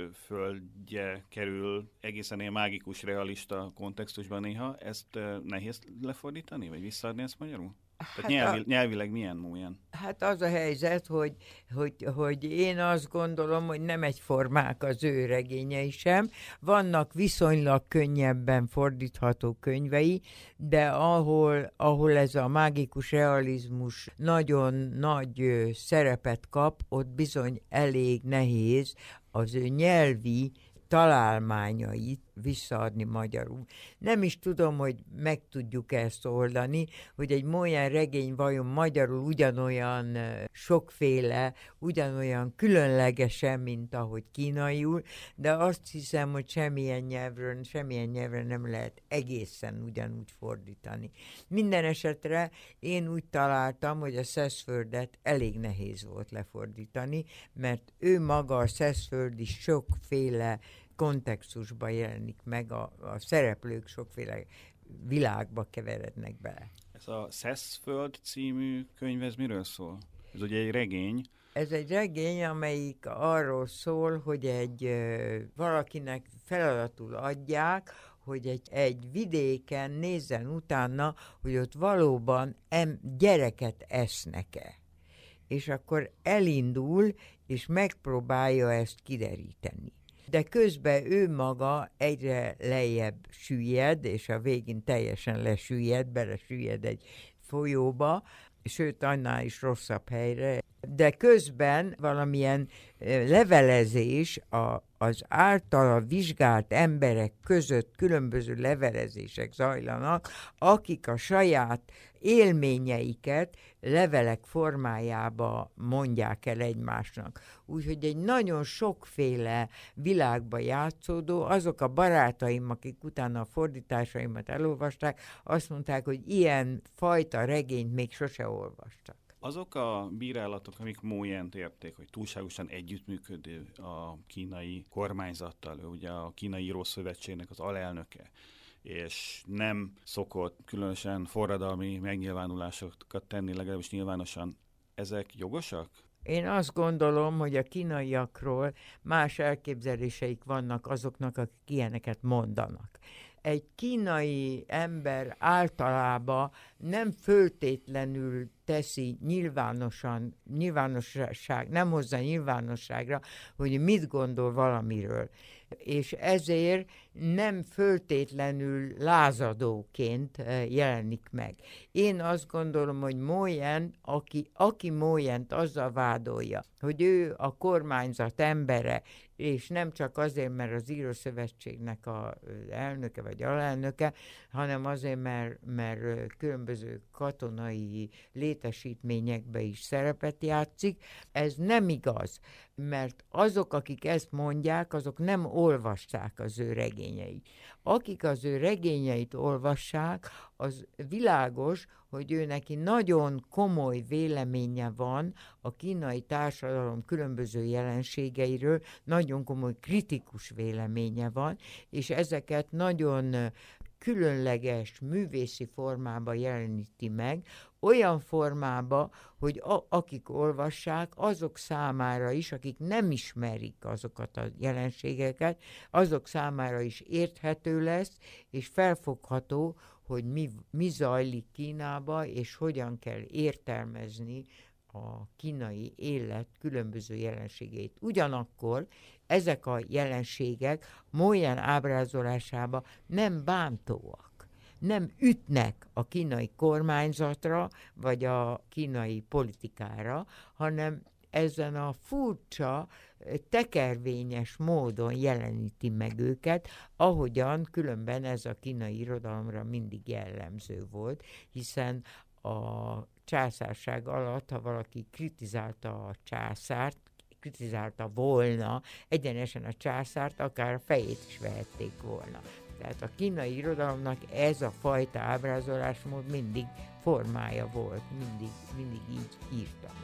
szülőföldje kerül egészen ilyen mágikus, realista kontextusban néha. Ezt uh, nehéz lefordítani, vagy visszaadni ezt magyarul? Tehát Hát nyelvi, a, nyelvileg milyen múlyan? Hát az a helyzet, hogy, hogy, hogy én azt gondolom, hogy nem egyformák az ő regényei sem. Vannak viszonylag könnyebben fordítható könyvei, de ahol, ahol ez a mágikus realizmus nagyon nagy szerepet kap, ott bizony elég nehéz az ő nyelvi találmányait visszaadni magyarul. Nem is tudom, hogy meg tudjuk ezt oldani, hogy egy Mo Yan regény vajon magyarul ugyanolyan sokféle, ugyanolyan különlegesen, mint ahogy kínaiul, de azt hiszem, hogy semmilyen nyelvről, semmilyen nyelvre nem lehet egészen ugyanúgy fordítani. Minden esetre én úgy találtam, hogy a Szeszföldet elég nehéz volt lefordítani, mert ő maga a Szeszföld is sokféle kontextusban jelenik meg, a, a szereplők sokféle világba keverednek bele. Ez a Szeszföld című könyv, ez miről szól? Ez ugye egy regény. Ez egy regény, amelyik arról szól, hogy egy ö, valakinek feladatul adják, hogy egy, egy vidéken nézzen utána, hogy ott valóban em, gyereket esznek-e. És akkor elindul, és megpróbálja ezt kideríteni. De közben ő maga egyre lejjebb süllyed, és a végén teljesen lesüllyed, belesüllyed egy folyóba, sőt, annál is rosszabb helyre. De közben valamilyen levelezés, a, az általa vizsgált emberek között különböző levelezések zajlanak, akik a saját élményeiket levelek formájába mondják el egymásnak. Úgyhogy egy nagyon sokféle világba játszódó, azok a barátaim, akik utána a fordításaimat elolvasták, azt mondták, hogy ilyen fajta regényt még sose olvastak. Azok a bírálatok, amik Mo Yant érték, hogy túlságosan együttműködő a kínai kormányzattal, ő ugye a Kínai Írószövetségnek az alelnöke, és nem szokott különösen forradalmi megnyilvánulásokat tenni, legalábbis nyilvánosan. Ezek jogosak? Én azt gondolom, hogy a kínaiakról más elképzeléseik vannak azoknak, akik ilyeneket mondanak. Egy kínai ember általában nem föltétlenül teszi nyilvánosan, nyilvánosság, nem hozza nyilvánosságra, hogy mit gondol valamiről. És ezért nem föltétlenül lázadóként jelenik meg. Én azt gondolom, hogy Mo Yan, aki, aki Mo Yant azzal vádolja, hogy ő a kormányzat embere, és nem csak azért, mert az Írószövetségnek az elnöke vagy alelnöke, hanem azért, mert, mert különböző katonai létesítményekbe is szerepet játszik. Ez nem igaz, mert azok, akik ezt mondják, azok nem olvassák az ő regényeit. Akik az ő regényeit olvassák, az világos, hogy ő neki nagyon komoly véleménye van a kínai társadalom különböző jelenségeiről, nagyon komoly kritikus véleménye van, és ezeket nagyon különleges művészi formába jeleníti meg, olyan formába, hogy a, akik olvassák, azok számára is, akik nem ismerik azokat a jelenségeket, azok számára is érthető lesz, és felfogható, hogy mi, mi zajlik Kínába, és hogyan kell értelmezni a kínai élet különböző jelenségeit. Ugyanakkor ezek a jelenségek Mo-Yan ábrázolásában nem bántóak, nem ütnek a kínai kormányzatra, vagy a kínai politikára, hanem ezen a furcsa, tekervényes módon jeleníti meg őket, ahogyan különben ez a kínai irodalomra mindig jellemző volt, hiszen a császárság alatt, ha valaki kritizálta a császárt, kritizálta volna egyenesen a császárt, akár a fejét is vehették volna. Tehát a kínai irodalomnak ez a fajta ábrázolásmód mindig formája volt, mindig, mindig így írtak.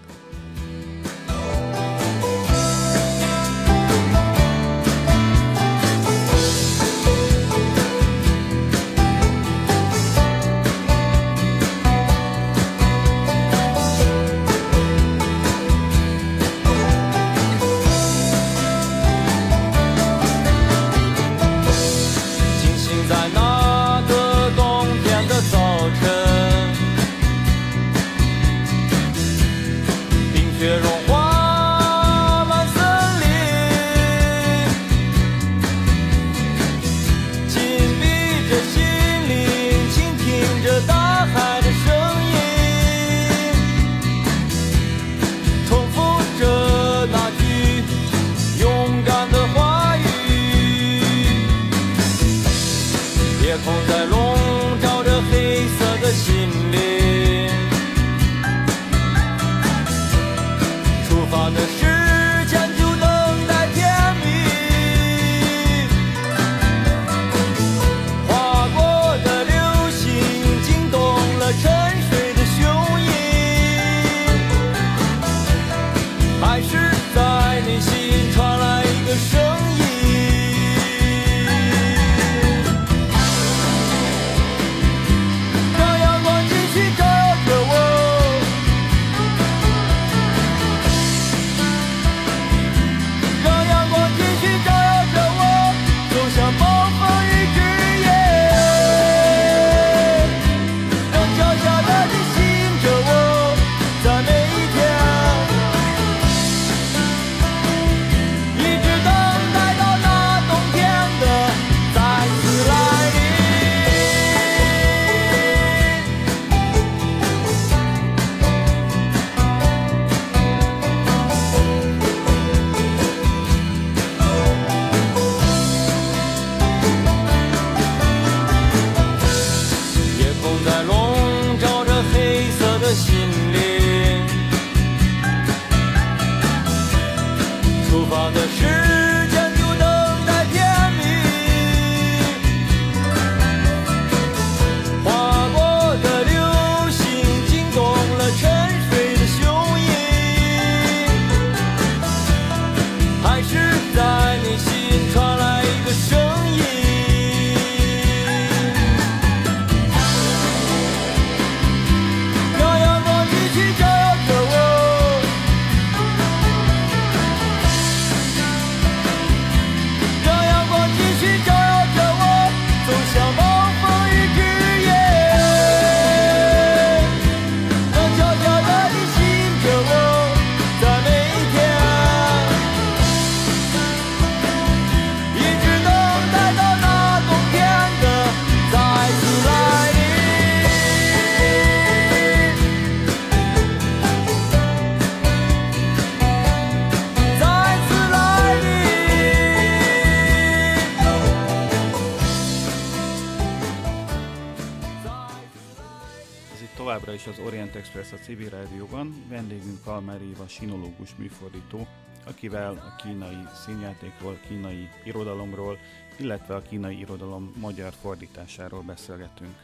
Továbbra is az Orient Express a Civil Rádióban, vendégünk Kalmár Éva sinológus műfordító, akivel a kínai színjátékról, kínai irodalomról, illetve a kínai irodalom magyar fordításáról beszélgetünk.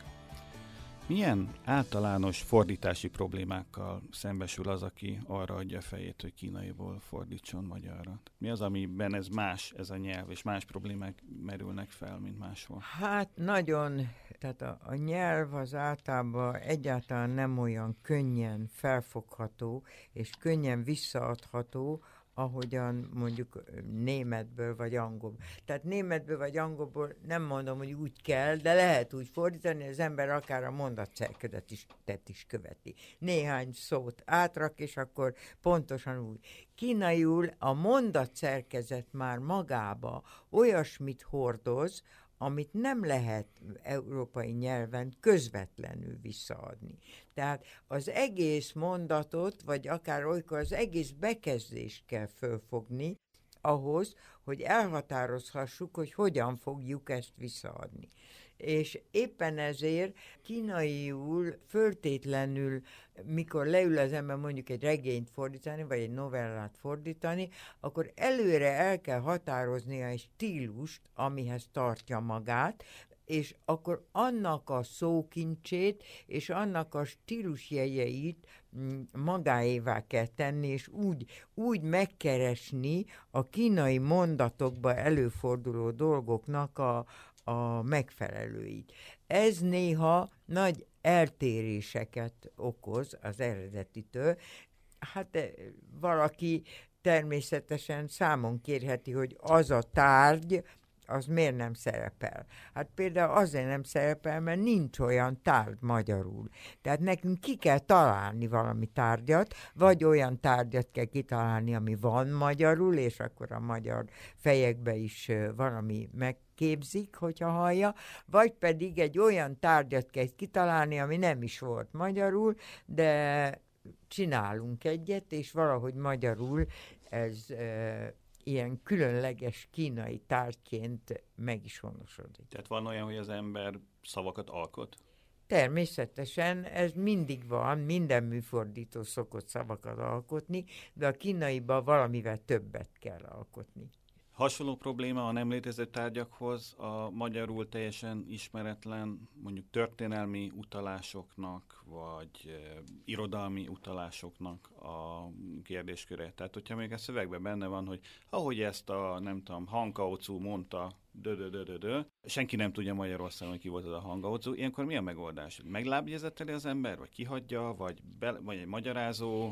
Milyen általános fordítási problémákkal szembesül az, aki arra adja a fejét, hogy kínaiból fordítson magyarra? Mi az, amiben ez más, ez a nyelv, és más problémák merülnek fel, mint máshol? Hát nagyon, tehát a, a nyelv az általában egyáltalán nem olyan könnyen felfogható, és könnyen visszaadható, ahogyan mondjuk németből vagy angolból. Tehát németből vagy angolból nem mondom, hogy úgy kell, de lehet úgy fordítani, az ember akár a mondatszerkezet is, is követi. Néhány szót átrak, és akkor pontosan úgy. Kínaiul a mondatszerkezet már magába olyasmit hordoz, amit nem lehet európai nyelven közvetlenül visszaadni. Tehát az egész mondatot, vagy akár olykor az egész bekezdést kell fölfogni ahhoz, hogy elhatározhassuk, hogy hogyan fogjuk ezt visszaadni. És éppen ezért kínaiul föltétlenül, mikor leül az ember mondjuk egy regényt fordítani, vagy egy novellát fordítani, akkor előre el kell határoznia egy stílust, amihez tartja magát, és akkor annak a szókincsét és annak a stílusjegyeit magáévá kell tenni, és úgy, úgy megkeresni a kínai mondatokban előforduló dolgoknak a, a megfelelőit. Ez néha nagy eltéréseket okoz az eredetitől. Hát valaki természetesen számon kérheti, hogy az a tárgy, az miért nem szerepel? Hát például azért nem szerepel, mert nincs olyan tárgy magyarul. Tehát nekünk ki kell találni valami tárgyat, vagy olyan tárgyat kell kitalálni, ami van magyarul, és akkor a magyar fejekbe is valami megképzik, hogyha hallja, vagy pedig egy olyan tárgyat kell kitalálni, ami nem is volt magyarul, de csinálunk egyet, és valahogy magyarul ez ilyen különleges kínai tárgyként meg is honosodik. Tehát van olyan, hogy az ember szavakat alkot? Természetesen ez mindig van, minden műfordító szokott szavakat alkotni, de a kínaiban valamivel többet kell alkotni. Hasonló probléma a nem létező tárgyakhoz a magyarul teljesen ismeretlen, mondjuk történelmi utalásoknak, vagy e, irodalmi utalásoknak a kérdésköre. Tehát, hogyha még a szövegben benne van, hogy ahogy ezt a, nem tudom, Han Kao-cu mondta, dö-dö-dö-dö-dö, senki nem tudja Magyarországon, hogy ki volt az a Han Kao-cu, ilyenkor mi a megoldás? Meglábjegyzeteli az ember, vagy kihagyja, vagy, be, vagy egy magyarázó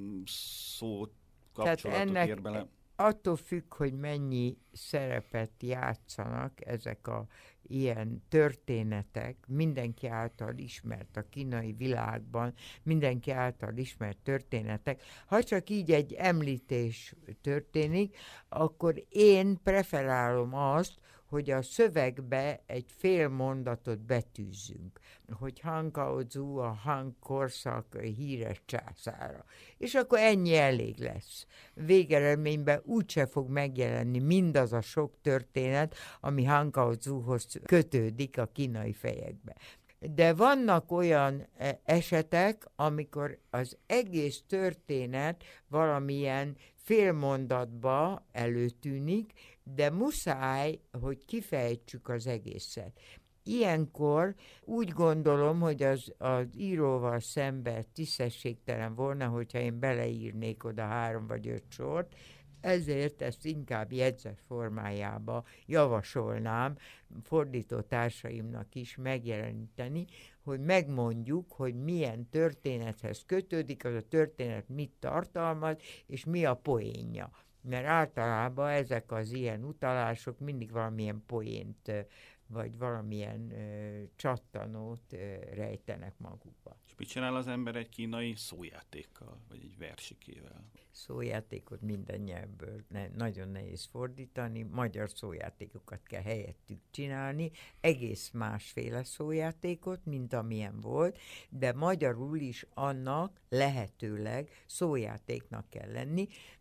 szót, kapcsolatot ennek... ér bele? Attól függ, hogy mennyi szerepet játszanak ezek a ilyen történetek, mindenki által ismert a kínai világban, mindenki által ismert történetek. Ha csak így egy említés történik, akkor én preferálom azt, hogy a szövegbe egy fél mondatot betűzzünk, hogy Han Kao-cu a Han korszak híres császára. És akkor ennyi elég lesz. Végeredményben úgyse fog megjelenni mindaz a sok történet, ami Han Kao-cuhoz kötődik a kínai fejekbe. De vannak olyan esetek, amikor az egész történet valamilyen félmondatba előtűnik, de muszáj, hogy kifejtsük az egészet. Ilyenkor úgy gondolom, hogy az, az íróval szemben tisztességtelen volna, hogyha én beleírnék oda három vagy öt sort, ezért ezt inkább jegyzet formájába javasolnám fordító társaimnak is megjeleníteni, hogy megmondjuk, hogy milyen történethez kötődik, az a történet mit tartalmaz, és mi a poénja. Mert általában ezek az ilyen utalások mindig valamilyen poént, vagy valamilyen ö, csattanót ö, rejtenek magukba. És mit csinál az ember egy kínai szójátékkal, vagy egy versikével? Szójátékot minden nyelvből ne, nagyon nehéz fordítani, magyar szójátékokat kell helyettük csinálni, egész másféle szójátékot, mint amilyen volt, de magyarul is annak lehetőleg szójátéknak kell lenni,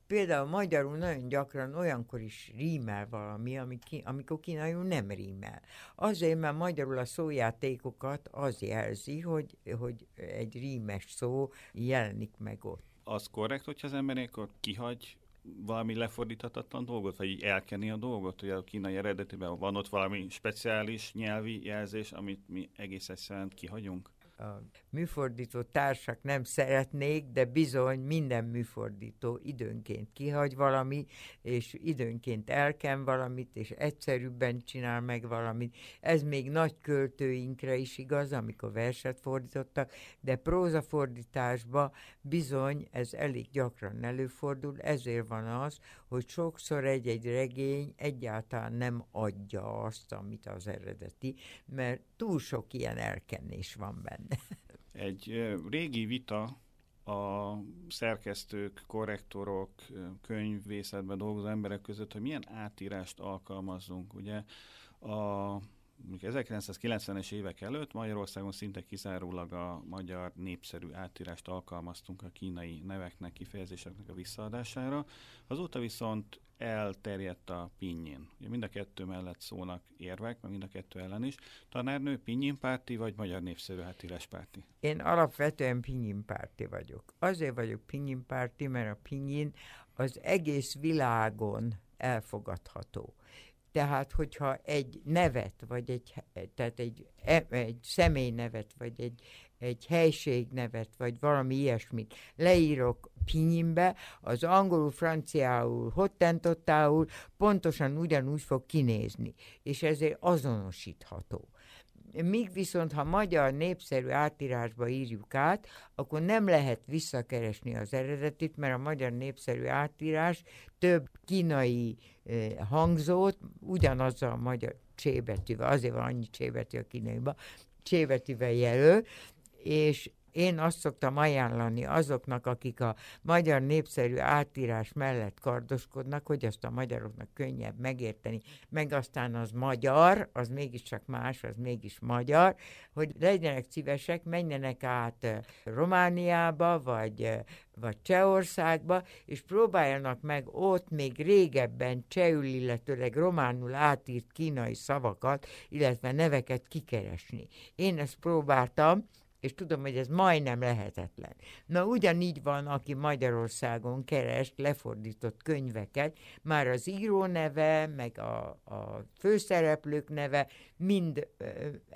Például magyarul nagyon gyakran olyankor is rímel valami, amikor kínaiul nem rímel. Azért, mert magyarul a szójátékokat az jelzi, hogy, hogy egy rímes szó jelenik meg ott. Az korrekt, hogyha az ember akkor kihagy valami lefordíthatatlan dolgot, vagy így elkenni a dolgot, hogy a kínai eredetiben van ott valami speciális nyelvi jelzés, amit mi egész egyszerűen kihagyunk? A műfordító társak nem szeretnék, de bizony minden műfordító időnként kihagy valami, és időnként elken valamit, és egyszerűbben csinál meg valamit. Ez még nagy költőinkre is igaz, amikor verset fordítottak, de prózafordításban bizony ez elég gyakran előfordul, ezért van az, hogy sokszor egy-egy regény egyáltalán nem adja azt, amit az eredeti, mert túl sok ilyen elkenés van benne. Egy régi vita a szerkesztők, korrektorok, könyvvészetben dolgozó emberek között, hogy milyen átírást alkalmazzunk. Ugye a ezerkilencszázkilencvenes évek előtt Magyarországon szinte kizárólag a magyar népszerű átírást alkalmaztunk a kínai neveknek, kifejezéseknek a visszaadására. Azóta viszont elterjedt a pinyin. Ugye mind a kettő mellett szólnak érvek, meg mind a kettő ellen is. Tanárnő pinyin-párti, vagy magyar népszerű átíráspárti? Én alapvetően pinyin-párti vagyok. Azért vagyok pinyin-párti, mert a pinyin az egész világon elfogadható. Tehát, hogyha egy nevet, vagy egy, tehát egy, egy személynevet, vagy egy, egy helységnevet, vagy valami ilyesmit leírok pinyinbe, az angolul, franciául, hottentottául pontosan ugyanúgy fog kinézni, és ezért azonosítható. Míg viszont, ha magyar népszerű átírásba írjuk át, akkor nem lehet visszakeresni az eredetit, mert a magyar népszerű átírás több kínai eh, hangzót, ugyanazzal a magyar csébetűvel, azért van annyi csébetű a kínaiban, csébetűvel jelöl, és én azt szoktam ajánlani azoknak, akik a magyar népszerű átírás mellett kardoskodnak, hogy azt a magyaroknak könnyebb megérteni, meg aztán az magyar, az mégiscsak más, az mégis magyar, hogy legyenek szívesek, menjenek át Romániába, vagy, vagy Csehországba, és próbáljanak meg ott még régebben csehül, illetőleg románul átírt kínai szavakat, illetve neveket kikeresni. Én ezt próbáltam, és tudom, hogy ez majdnem lehetetlen. Na, ugyanígy van, aki Magyarországon keres lefordított könyveket, már az író neve, meg a, a főszereplők neve mind ö,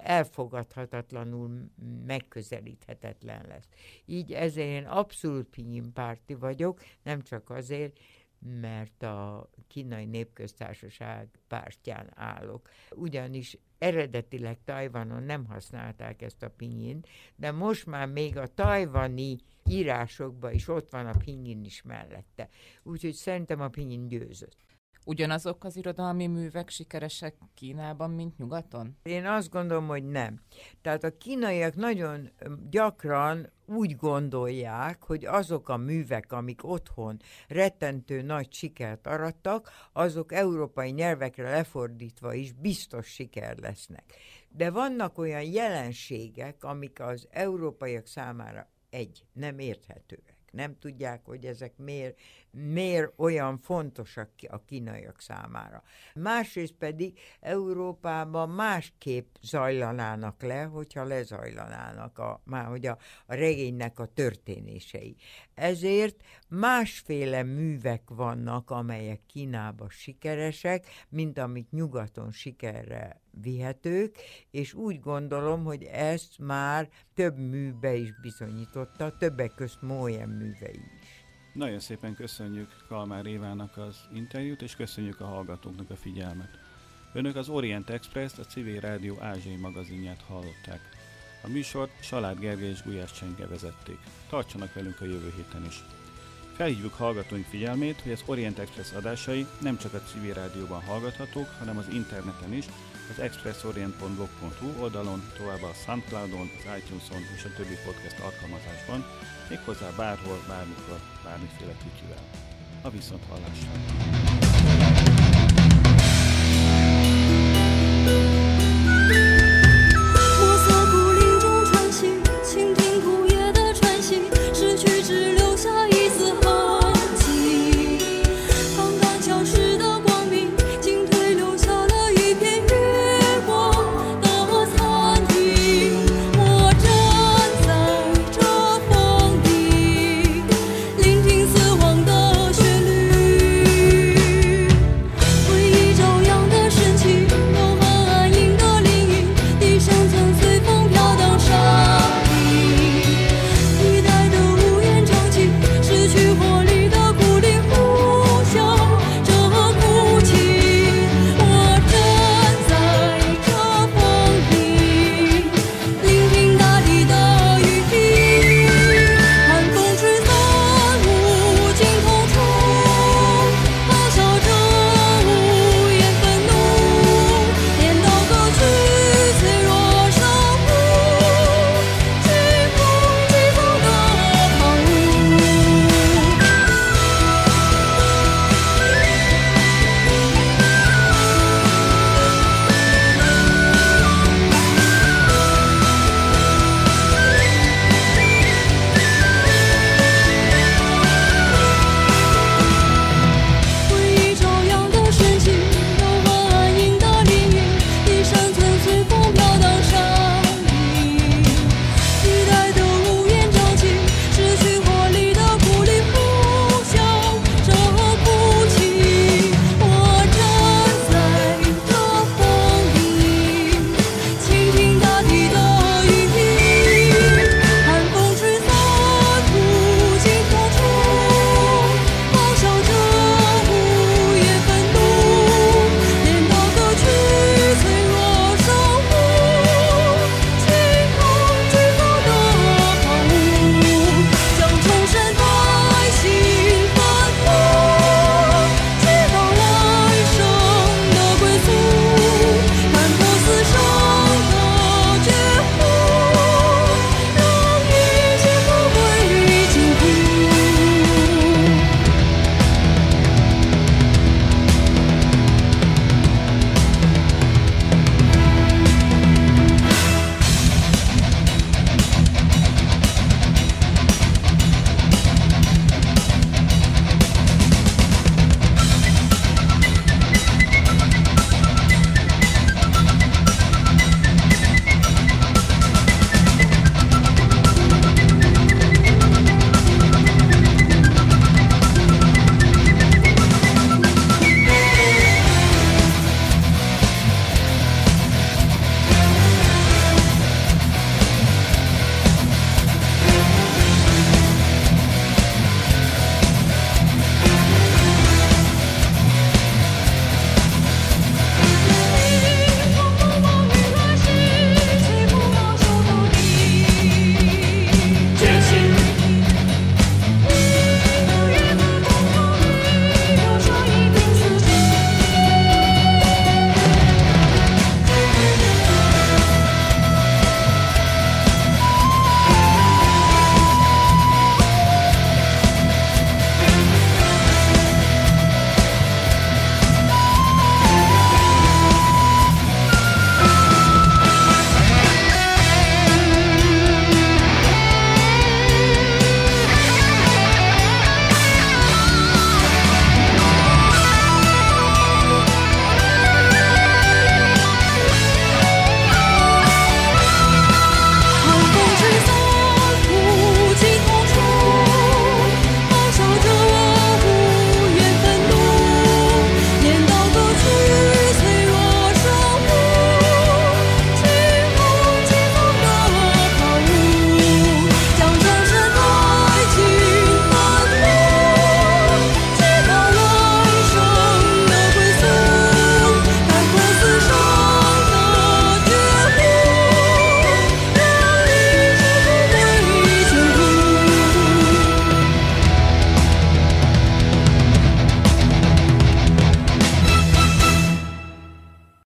elfogadhatatlanul megközelíthetetlen lesz. Így ezért én abszolút pinyin-párti vagyok, nem csak azért, mert a Kínai Népköztársaság pártján állok. Ugyanis eredetileg Tajvanon nem használták ezt a pinyint, de most már még a tajvani írásokban is ott van a pinyin is mellette. Úgyhogy szerintem a pinyin győzött. Ugyanazok az irodalmi művek sikeresek Kínában, mint nyugaton? Én azt gondolom, hogy nem. Tehát a kínaiak nagyon gyakran úgy gondolják, hogy azok a művek, amik otthon rettentő nagy sikert arattak, azok európai nyelvekre lefordítva is biztos siker lesznek. De vannak olyan jelenségek, amik az európaiak számára egy, nem érthetőek. Nem tudják, hogy ezek miért, miért olyan fontosak a kínaiak számára. Másrészt pedig Európában másképp zajlanának le, hogyha lezajlanának a, már hogy a, a regénynek a történései. Ezért másféle művek vannak, amelyek Kínában sikeresek, mint amik nyugaton sikerre vihetők, és úgy gondolom, hogy ezt már több műbe is bizonyította, többek közt Mójen művei is. Nagyon szépen köszönjük Kalmár Évának az interjút, és köszönjük a hallgatóknak a figyelmet. Önök az Orient Express, a Civil Rádió ázsiai magazinját hallották. A műsort Salád Gergely és Gulyás Csenge vezették. Tartsanak velünk a jövő héten is. Felhívjuk hallgatóink figyelmét, hogy az Orient Express adásai nem csak a Civil Rádióban hallgathatók, hanem az interneten is, az expressorient pont blog pont hu oldalon, továbbá a Soundcloudon, az iTunes-on és a többi podcast alkalmazásban, méghozzá bárhol, bármikor, bármiféle kütyüvel. A viszonthallásra!